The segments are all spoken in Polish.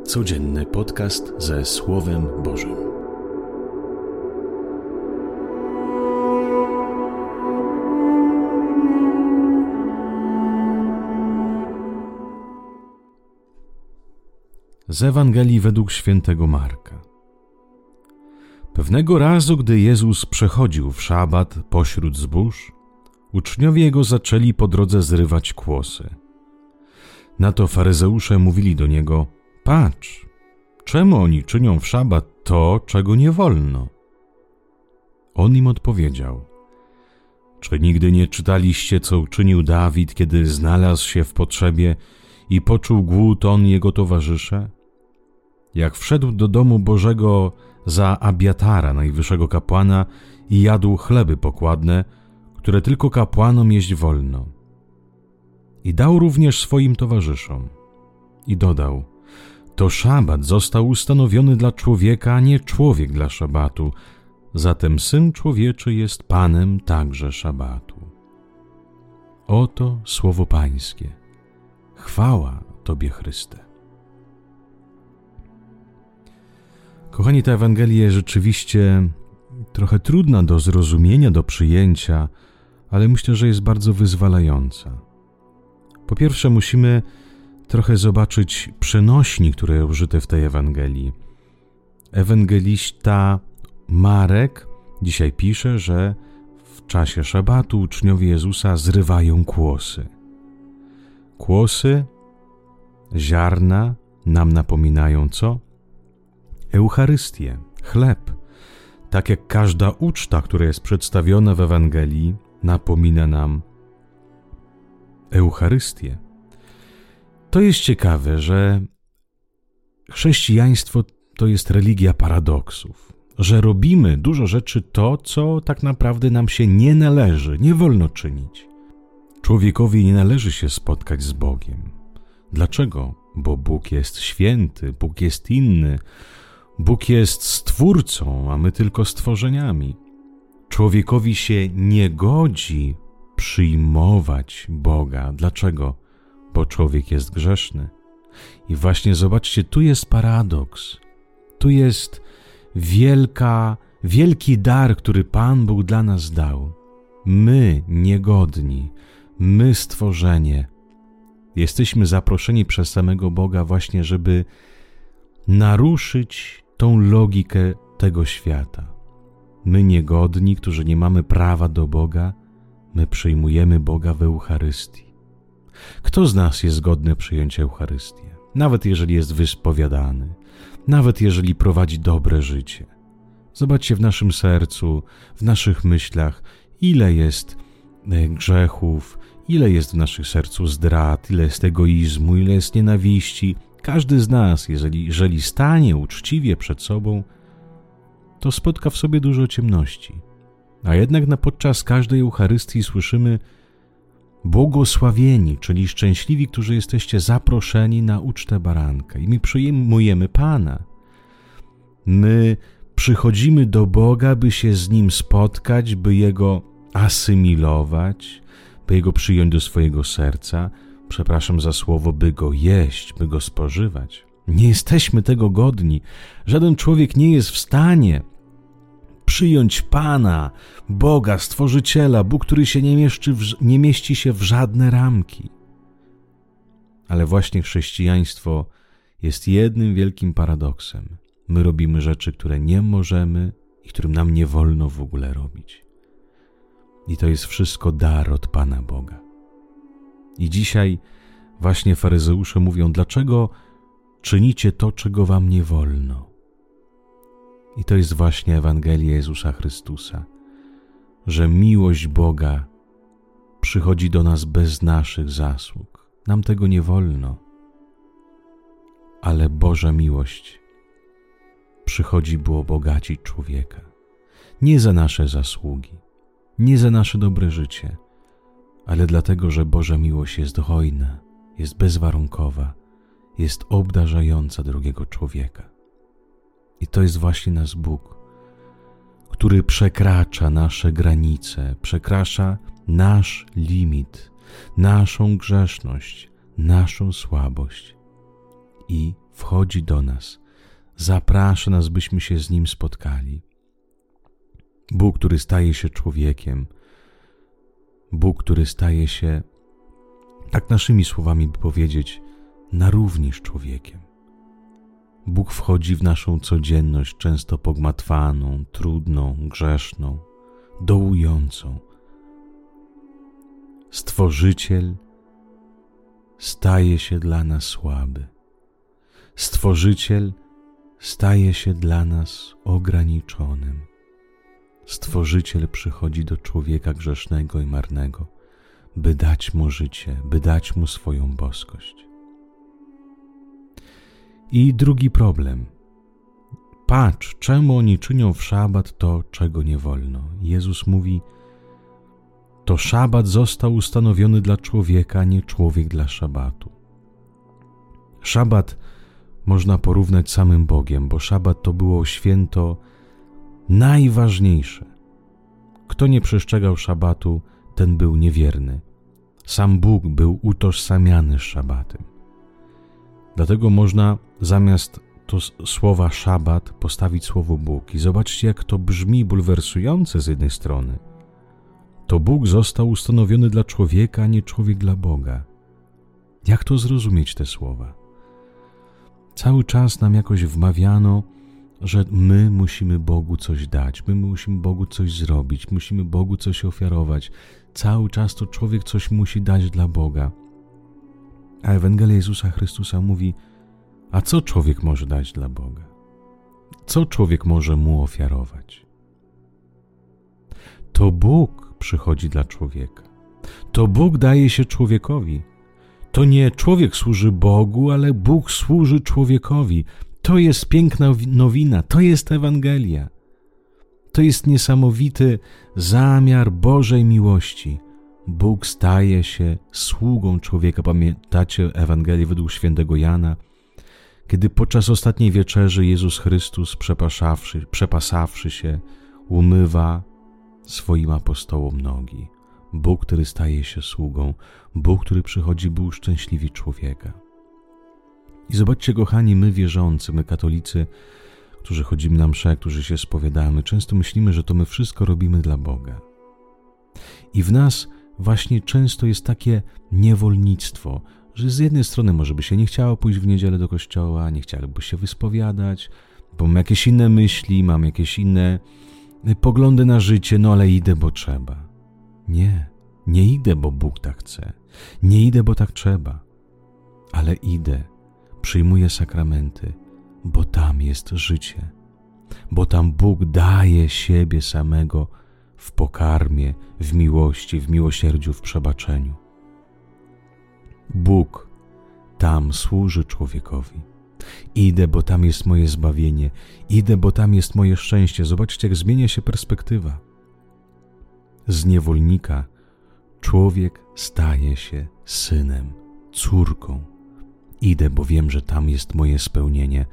Codzienny podcast ze Słowem Bożym. Z Ewangelii według świętego Marka. Pewnego razu, gdy Jezus przechodził w szabat pośród zbóż, uczniowie Jego zaczęli po drodze zrywać kłosy. Na to faryzeusze mówili do Niego: Patrz, czemu oni czynią w szabat to, czego nie wolno? On im odpowiedział: Czy nigdy nie czytaliście, co uczynił Dawid, kiedy znalazł się w potrzebie i poczuł głód on i jego towarzysze? Jak wszedł do domu Bożego za Abiatara, najwyższego kapłana, i jadł chleby pokładne, które tylko kapłanom jeść wolno. I dał również swoim towarzyszom. I dodał: To szabat został ustanowiony dla człowieka, a nie człowiek dla szabatu. Zatem Syn Człowieczy jest Panem także szabatu. Oto słowo Pańskie. Chwała Tobie, Chryste. Kochani, ta Ewangelia jest rzeczywiście trochę trudna do zrozumienia, do przyjęcia, ale myślę, że jest bardzo wyzwalająca. Po pierwsze, musimy trochę zobaczyć przenośni, które użyte w tej Ewangelii. Ewangelista Marek dzisiaj pisze, że w czasie szabatu uczniowie Jezusa zrywają kłosy. Kłosy, ziarna nam napominają co? Eucharystię, chleb. Tak jak każda uczta, która jest przedstawiona w Ewangelii, napomina nam Eucharystię. To jest ciekawe, że chrześcijaństwo to jest religia paradoksów, że robimy dużo rzeczy to, co tak naprawdę nam się nie należy, nie wolno czynić. Człowiekowi nie należy się spotkać z Bogiem. Dlaczego? Bo Bóg jest święty, Bóg jest inny, Bóg jest Stwórcą, a my tylko stworzeniami. Człowiekowi się nie godzi przyjmować Boga. Dlaczego? Bo człowiek jest grzeszny. I właśnie zobaczcie, tu jest paradoks. Tu jest wielki dar, który Pan Bóg dla nas dał. My, niegodni, my, stworzenie, jesteśmy zaproszeni przez samego Boga właśnie, żeby naruszyć tą logikę tego świata. My, niegodni, którzy nie mamy prawa do Boga, my przyjmujemy Boga w Eucharystii. Kto z nas jest godny przyjąć Eucharystię? Nawet jeżeli jest wyspowiadany, nawet jeżeli prowadzi dobre życie. Zobaczcie w naszym sercu, w naszych myślach, ile jest grzechów, ile jest w naszym sercu zdrad, ile jest egoizmu, ile jest nienawiści. Każdy z nas, jeżeli stanie uczciwie przed sobą, to spotka w sobie dużo ciemności. A jednak podczas każdej Eucharystii słyszymy: błogosławieni, czyli szczęśliwi, którzy jesteście zaproszeni na ucztę baranka. I my przyjmujemy Pana. My przychodzimy do Boga, by się z Nim spotkać, by Jego asymilować, by Jego przyjąć do swojego serca. Przepraszam za słowo, by Go jeść, by Go spożywać. Nie jesteśmy tego godni. Żaden człowiek nie jest w stanie przyjąć Pana, Boga, Stworzyciela, Bóg, który się nie mieści się w żadne ramki. Ale właśnie chrześcijaństwo jest jednym wielkim paradoksem. My robimy rzeczy, które nie możemy i którym nam nie wolno w ogóle robić. I to jest wszystko dar od Pana Boga. I dzisiaj właśnie faryzeusze mówią: dlaczego czynicie to, czego wam nie wolno? I to jest właśnie Ewangelia Jezusa Chrystusa, że miłość Boga przychodzi do nas bez naszych zasług. Nam tego nie wolno, ale Boża miłość przychodzi, by obogacić człowieka. Nie za nasze zasługi, nie za nasze dobre życie, ale dlatego, że Boża miłość jest hojna, jest bezwarunkowa, jest obdarzająca drugiego człowieka. I to jest właśnie nasz Bóg, który przekracza nasze granice, przekracza nasz limit, naszą grzeszność, naszą słabość i wchodzi do nas. Zaprasza nas, byśmy się z Nim spotkali. Bóg, który staje się człowiekiem. Bóg, który staje się, tak naszymi słowami by powiedzieć, na równi z człowiekiem. Bóg wchodzi w naszą codzienność, często pogmatwaną, trudną, grzeszną, dołującą. Stworzyciel staje się dla nas słaby. Stworzyciel staje się dla nas ograniczonym. Stworzyciel przychodzi do człowieka grzesznego i marnego, by dać mu życie, by dać mu swoją boskość. I drugi problem. Patrz, czemu oni czynią w szabat to, czego nie wolno. Jezus mówi, to szabat został ustanowiony dla człowieka, a nie człowiek dla szabatu. Szabat można porównać z samym Bogiem, bo szabat to było święto najważniejsze. Kto nie przestrzegał szabatu, ten był niewierny. Sam Bóg był utożsamiany z szabatem. Dlatego można zamiast słowa szabat postawić słowo Bóg. I zobaczcie, jak to brzmi bulwersujące z jednej strony. To Bóg został ustanowiony dla człowieka, a nie człowiek dla Boga. Jak to zrozumieć, te słowa? Cały czas nam jakoś wmawiano, że my musimy Bogu coś dać, my musimy Bogu coś zrobić, musimy Bogu coś ofiarować. Cały czas to człowiek coś musi dać dla Boga. A Ewangelia Jezusa Chrystusa mówi, a co człowiek może dać dla Boga? Co człowiek może Mu ofiarować? To Bóg przychodzi dla człowieka. To Bóg daje się człowiekowi. To nie człowiek służy Bogu, ale Bóg służy człowiekowi. To jest piękna nowina, to jest Ewangelia. To jest niesamowity zamiar Bożej miłości. Bóg staje się sługą człowieka. Pamiętacie Ewangelię według świętego Jana? Kiedy podczas ostatniej wieczerzy Jezus Chrystus, przepasawszy się, umywa swoim apostołom nogi. Bóg, który staje się sługą, Bóg, który przychodzi, by uszczęśliwić człowieka. I zobaczcie, kochani, my wierzący, my katolicy, którzy chodzimy na msze, którzy się spowiadamy, często myślimy, że to my wszystko robimy dla Boga. I w nas właśnie często jest takie niewolnictwo, że z jednej strony może by się nie chciało pójść w niedzielę do kościoła, nie chciałoby się wyspowiadać, bo mam jakieś inne myśli, mam jakieś inne poglądy na życie, no ale idę, bo trzeba. Nie idę, bo Bóg tak chce. Nie idę, bo tak trzeba. Ale idę, przyjmuję sakramenty, bo tam jest życie. Bo tam Bóg daje siebie samego w pokarmie, w miłości, w miłosierdziu, w przebaczeniu. Bóg tam służy człowiekowi. Idę, bo tam jest moje zbawienie. Idę, bo tam jest moje szczęście. Zobaczcie, jak zmienia się perspektywa. Z niewolnika człowiek staje się synem, córką. Idę, bo wiem, że tam jest moje spełnienie.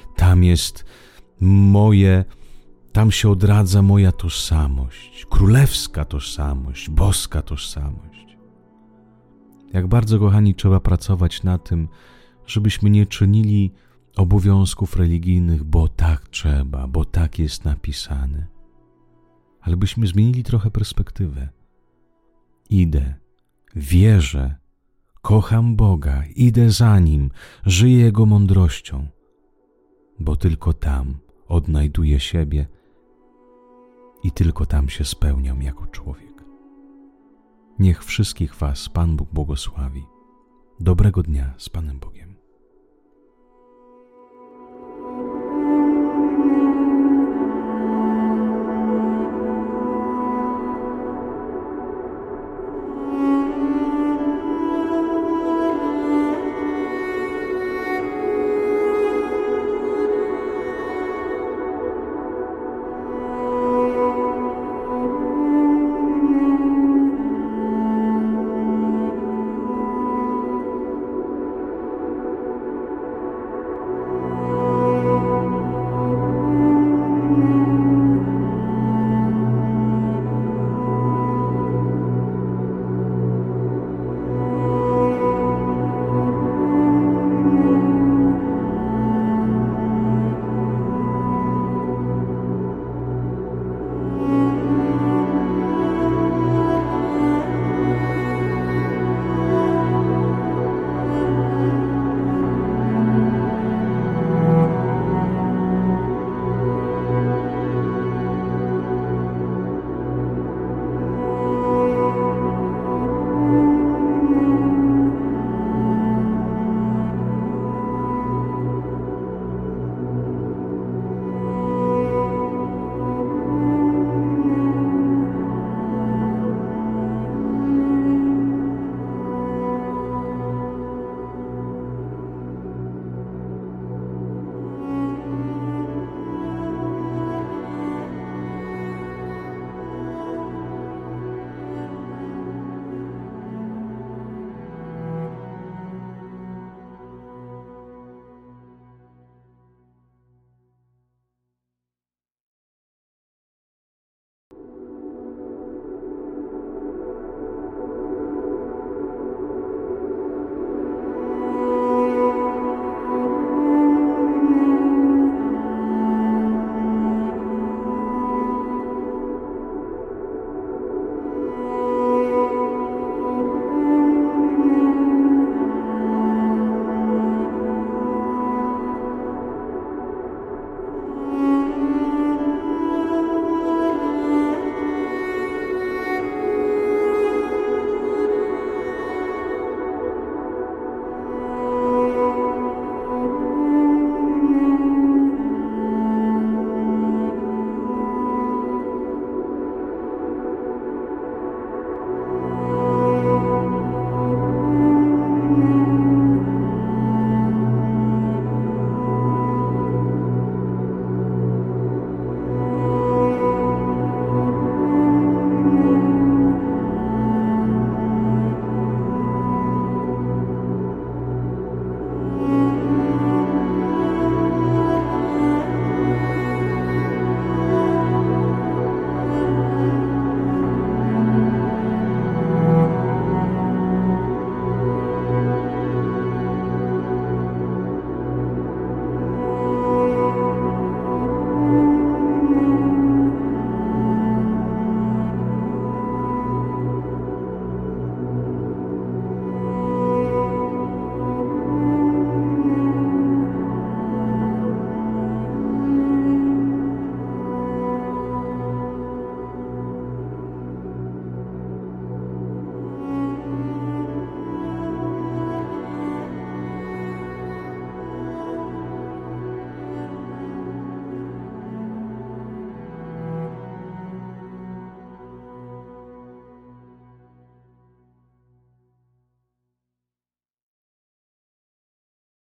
Tam się odradza moja tożsamość, królewska tożsamość, boska tożsamość. Jak bardzo, kochani, trzeba pracować na tym, żebyśmy nie czynili obowiązków religijnych, bo tak trzeba, bo tak jest napisane. Ale byśmy zmienili trochę perspektywę. Idę, wierzę, kocham Boga, idę za Nim, żyję Jego mądrością, bo tylko tam odnajduję siebie i tylko tam się spełniam jako człowiek. Niech wszystkich was Pan Bóg błogosławi. Dobrego dnia z Panem